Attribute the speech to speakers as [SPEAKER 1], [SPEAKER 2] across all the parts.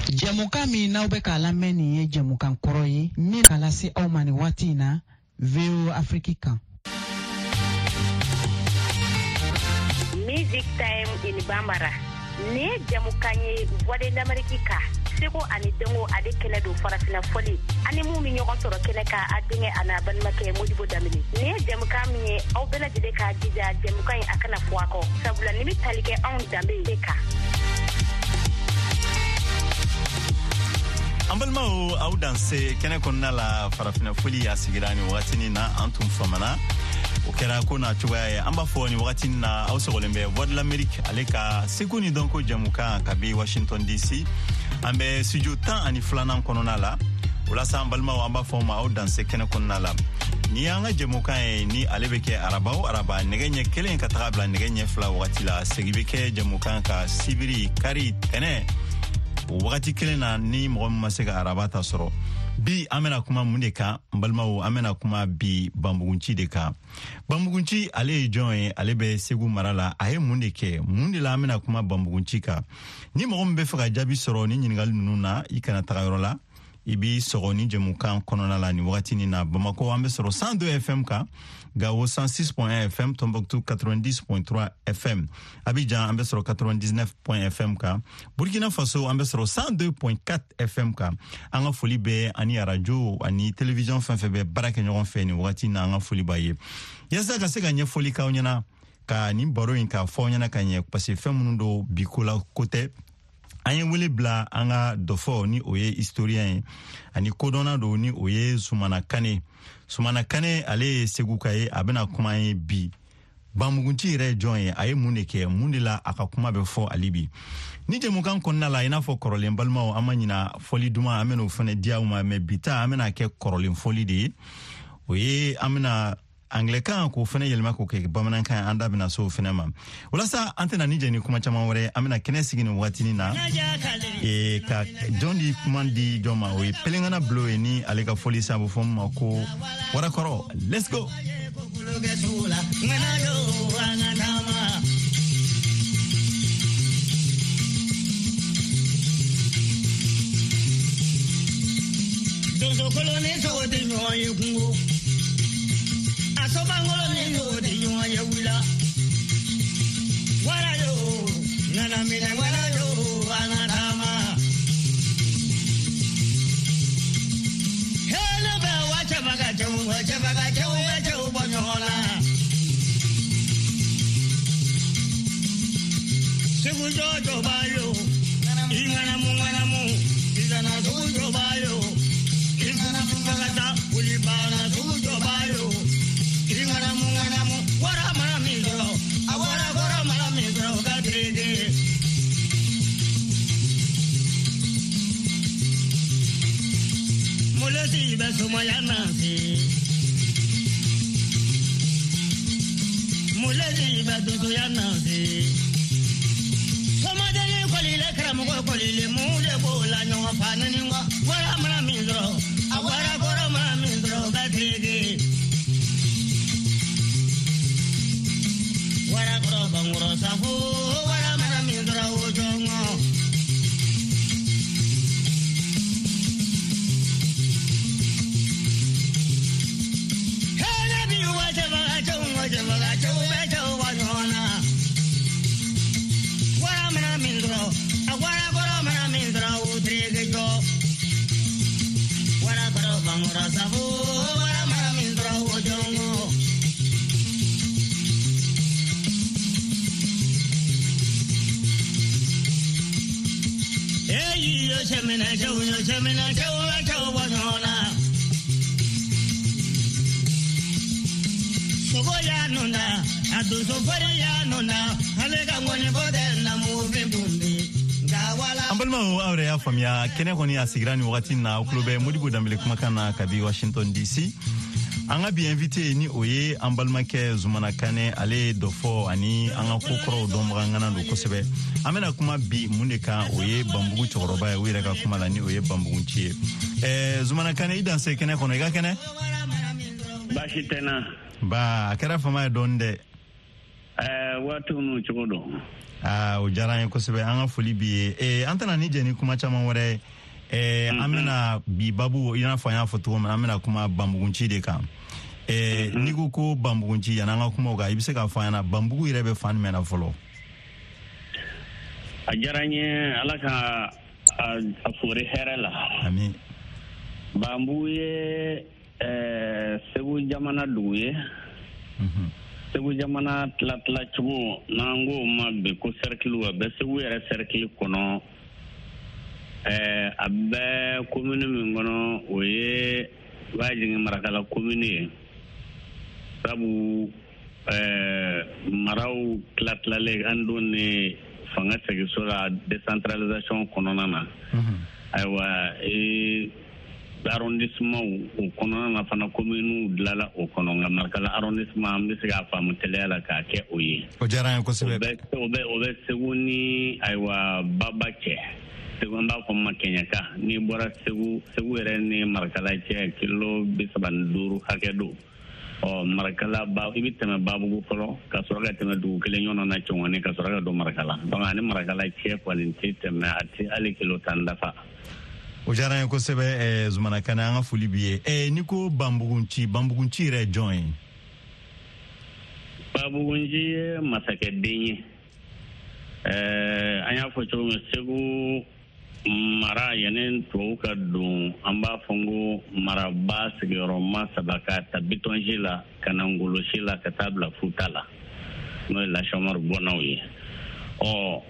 [SPEAKER 1] Jamuka mi na ube ka lamɛn nin ye jamukan kɔrɔ ye min ka lase aw ma nin waati in na VOA Afrique kan.
[SPEAKER 2] Music Time in Bambara. Ne jamukan ye Voix de l'Amérique ka. Seko ani dengo ade kɛnɛ do farafina fɔli. Ani mu mi ɲɔgɔn sɔrɔ kɛnɛ ka a denkɛ ana balimakɛ Modibo Damini. Ne jamukan min ye aw bɛɛ lajɛlen ka jija jamukan in a kana fɔ a kɔ. Sabula ni bi tali kɛ anw danbe de kan.
[SPEAKER 3] Ambalmao au danse kene konna la farafina foli ya sigirani wakati ni na antum famana okera kona chugaye amba foni wakati na au sogolembe Voix de l'Amérique aleka sekuni donko jamuka kabi Washington DC ambe studio tan ani flana konona la ulasa ambalmao amba foma au danse kene konna la ni anga jamuka ni alebeke araba negenye kelen katabla negenye fla wakati la segibeke jamuka ka sibiri kari tene wakati kelena ni mɔgɔ min ma se ka arabata sɔrɔ bi amena kuma mun de kan balmawo amena kuma bi Bambugunci de kan Bambugunci ale ye jɔn ye ale bɛ Segu mara la a ye mun de kɛ mun de la amena kuma Bambugunci kan ni mɔgɔ min bɛ fɛ ka jaabi sɔrɔ ni ɲininkali ninnu na I kana taga yɔrɔ la I bi sɔgɔ ni jamukan kɔnɔna la ni wakati ni na Bamako an bɛ sɔrɔ 102 FM kan Gao 106.1 FM, Tombouctou 90.3 FM, Abidjan an bɛ sɔrɔ 99.1 FM kan, Burkina Faso an bɛ sɔrɔ 102.4 FM kan. An ka foli bɛ ani radio ani télévision fɛn fɛn bɛ baara kɛ ɲɔgɔn fɛ ni wagati na an ka foli b'a ye. Yasa ka se ka ɲɛfɔli k'aw ɲɛna ka nin baro in ka fɔ aw ɲɛna ka ɲɛ parce que fɛn minnu do bi ko la ko tɛ. An ye wele bila an ka dɔfɔ ni o ye historien ye ani kodɔnna do ni o ye Sumana Kane. Sumana Kane ale ye Segu ka ye a bɛna kuma ye bi Bambugunci yɛrɛ jɔn ye a ye mun de kɛ mun de la a ka kuma bɛ fɔ ali bi ni jamukan kɔnɔna la I n'a fɔ kɔrɔlen balimaw an ma ɲina fɔli duman an bɛna o fana di aw ma mais bi ta an bɛna kɛ kɔrɔlen fɔli de ye o ye an bɛna Anglais-kan k'o fana yɛlɛma k'o kɛ bamanankan an da bɛna so o fana ma walasa an tɛna ni jɛ ni kuma caman wɛrɛ an bɛna kɛnɛ sigi nin waatinin na ka jɔn di kuma di jɔn ma o ye Pelengana Bulo ye ni ale ka fɔli sabu fɔ ma ko Warakɔrɔ let's go Dozo kolone so de nyoye kungo Asobangolo ni yo de nyoye wila Wara yo nana mina wara yo anadama Hele ba wacha baga chewu bonyola Segu jojo bayo ingana mu izana jojo bayo ingana mungata ulibana jojo bayo ingana mu wara mara mindro awara mara mindro gadede mulati besumayana mulati beduyana Somadele kolile kramugo kolile mule bola nyonga panani ngwa wara mara mindro awara gora mara mindro gadege wara gora bangoro safu wara mara mindro ojongo hele bi waje baga chongo wanyona Awara gora mara mindra udrege jo Wara gora bangora sabu wara mara mindra ojongo Eyi yo chemena jo wanyona Sogo ya nunda adu sofari ya nunda alega ngone bode na muvi bumbi Ambalma awre ya famia kene koni asigirani wakati na uklube Modibo Damini kumakan na kabi Washington DC anga bi invité ni oye ambalma ke Zumana Kane ale dofo ani anga kokoro domba ngana do kosebe amena kuma bi muneka oye Bambugu choroba ya wira ka kuma la ni oye Bambugunci Zumana Kane idanse kene kono ga kene
[SPEAKER 4] Bashitena
[SPEAKER 3] ba akara fama donde
[SPEAKER 4] watu no chodo
[SPEAKER 3] o diyara n ye kosɛbɛ an ka foli b'i ye an tɛna ni jɛ ni kuma caman wɛrɛ an bɛna bi babu i n'a fɔ an y'a fɔ cogo min an bɛna kuma banbugunci de kan n'i ko banbugunci yanni an ka kuma o kan i bɛ se k'a fɔ an ɲɛna banbugu yɛrɛ bɛ fan jumɛn na fɔlɔ.
[SPEAKER 4] A diyara n ye ala ka a fori hɛrɛ la.
[SPEAKER 3] Ami.
[SPEAKER 4] Banbugu ye Segu jamana dugu ye. Segu jamana tila cogo n'an ko ma bi ko cercle a bɛ Segu yɛrɛ cercle kɔnɔ a bɛ commune min kɔnɔ o ye Bajingi Marakala commune ye. Sabu maraw tilatilalen an don ni fanga segiso la décentralisation kɔnɔna na. Ayiwa arrondissement o kɔnɔna na fana commune dilala o kɔnɔ nka Marakala arrondissement an bɛ se k'a faamu teliya la k'a kɛ o ye.
[SPEAKER 3] O diyara n ye kosɛbɛ.
[SPEAKER 4] O bɛ Segu ni ayiwa Baba cɛ. Segu an b'a fɔ ma Kɛɲɛka n'i bɔra Segu yɛrɛ ni Marakala cɛ kilo 35 hakɛ don. Marakala i bɛ tɛmɛ Babugu fɔlɔ ka sɔrɔ ka tɛmɛ dugu kelen ɲɔgɔn na Cɔngɔni ka sɔrɔ ka don Marakala donc ani Marakala cɛ kɔni tɛ tɛmɛ a tɛ hali kilo 10 dafa.
[SPEAKER 3] O diyara n ye kosɛbɛ Zumana Kane an ka foli b'i ye n'i ko banbugunci yɛrɛ ye jɔn ye.
[SPEAKER 4] Banbugunci ye masakɛden ye an y'a fɔ cogo min Segu mara yanni tubabu ka don an b'a fɔ ko maraba sigiyɔrɔma 3 ka ta Bitonji la ka na Ngolosi la ka taa bila Futa la n'o ye Lasiamɔri bɔnnaw ye o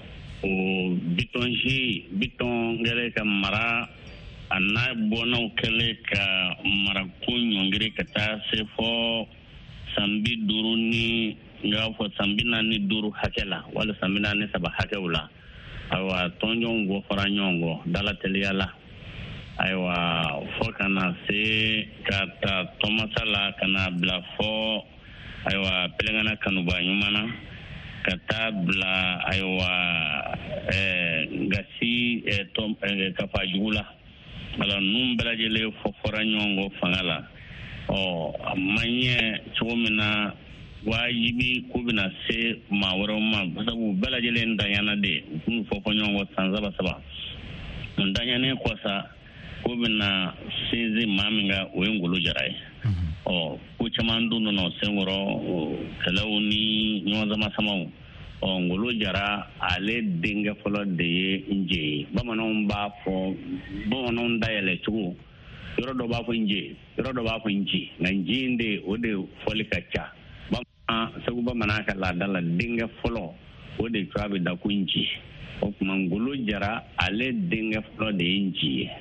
[SPEAKER 4] Biton kɛlen ka mara a n'a bɔnnaw kɛlen ka mara ko ɲɔngiri ka taa se fɔ san 50 ni n y'a fɔ san 45 hakɛ la wala san 43 hakɛw la. Ayiwa tɔnjɔnw bɔ fara ɲɔgɔn kɔ dala teliya la ayiwa fɔ ka na se ka taa Tɔmasa la ka na bila fɔ ayiwa Pɛlɛnkana Kanuba ɲuman na ka taa bila ayiwa Gasi Kafajugu la ala ninnu bɛɛ lajɛlen fɔra ɲɔgɔn kɔ fanga la a man ɲɛ cogo min na wajibi ko bɛna se maa wɛrɛw ma sabu bɛɛ lajɛlen danyana de u fɔ ɲɔgɔn kɔ san 3 danyanen kɔ sa ko bɛna sinsin maa min ka o ye Ngolo Jara ye ko caman dun nana senkɔrɔ kɛlɛw ni ɲɔgɔn sama-samaw Ngolo Jara ale denkɛ fɔlɔ de ye Nje ye bamananw dayɛlɛ cogo yɔrɔ dɔ b'a fɔ Nje yɔrɔ dɔ b'a fɔ Nji nka Nji in de o de fɔli ka ca Segu bamanan ka laada la denkɛ fɔlɔ o de tura bɛ da ko Nji o tuma Ngolo Jara ale denkɛ fɔlɔ de ye Nji ye.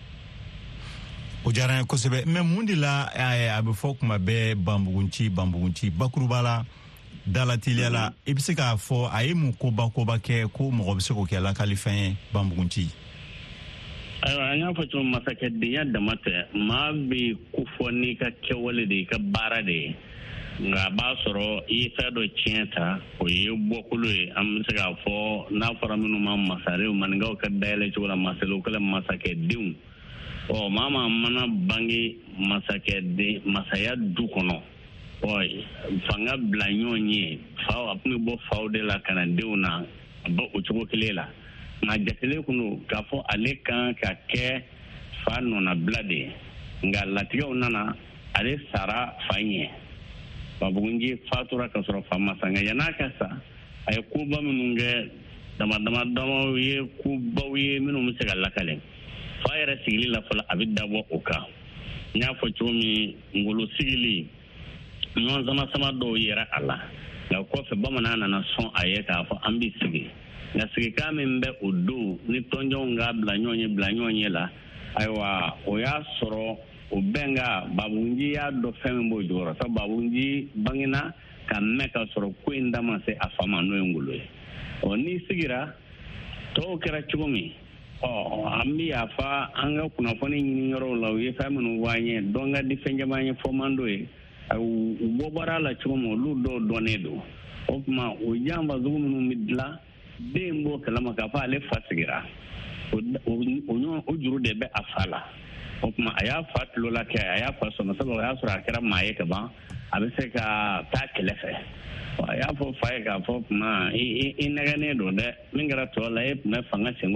[SPEAKER 3] O diyara n ye kosɛbɛ mais mun de la a bɛ fɔ kuma bɛɛ banbugunci bakuruba la dalateliya la i bɛ se k'a fɔ a ye mun koba kɛ ko mɔgɔ bɛ se k'o kɛ lakalifɛn ye banbugunci.
[SPEAKER 4] Ayiwa an y'a fɔ cogo masakɛdenya dama tɛ maa bɛ ko fɔ n'i ka kɛwale de i ka baara de ye nka a b'a sɔrɔ i ye fɛn dɔ tiɲɛ ta o ye bɔkolo ye an bɛ se k'a fɔ n'a fɔra minnu ma masarew maninkaw ka dayɛlɛ cogo la masalew kɛla masakɛdenw maa mana bange masaya du kɔnɔ fanga bila ɲɔgɔn ye faw a tun bɛ bɔ faw de la ka na denw na a bɔ o cogo kelen la nka jatelen kun don k'a fɔ ale kan ka kɛ fa nɔnabila de ye nka latigɛw nana ale sara fa ɲɛ Banbugunci fatura ka sɔrɔ fa ma sa nka yan'a ka sa a ye koba minnu kɛ dama ye kobaw ye minnu bɛ se ka lakale fa yɛrɛ sigili la fɔlɔ a bɛ dabɔ o kan n y'a fɔ cogo min Ngolo sigili ɲɔgɔn sama dɔw yɛrɛ a la nka kɔfɛ bamanan nana sɔn a ye k'a fɔ an bɛ sigi nka sigikan min bɛ o don ni tɔnjɔnw ka bila ɲɔgɔn ye la ayiwa o y'a sɔrɔ o bɛnka Banbugunci y'a dɔn fɛn min b'o jɔyɔrɔ sabu Banbugunci bangena ka mɛn ka sɔrɔ ko in da ma se a fa ma n'o ye Ngolo ye n'i sigira tɔw kɛra cogo min an bɛ yafa an ka kunnafoni ɲini yɔrɔw la u ye fɛn minnu fɔ an ye dɔn ka di fɛn caman ye fɔ man d'o ye u bɔ bɔra la cogo min olu dɔw dɔnnen don o tuma o janfa sugu minnu bɛ dilan den b'o kalama k'a fɔ ale fa sigira o juru de bɛ a fa la o kuma a y'a fa tulo la kɛ a y'a fa sɔnna sabu o y'a sɔrɔ a kɛra maa ye ka ban a bɛ se ka taa kɛlɛ fɛ a y'a fɔ fa ye k'a fɔ kuma i nɛgɛnnen don dɛ min kɛra tɔ la e tun bɛ fanga sen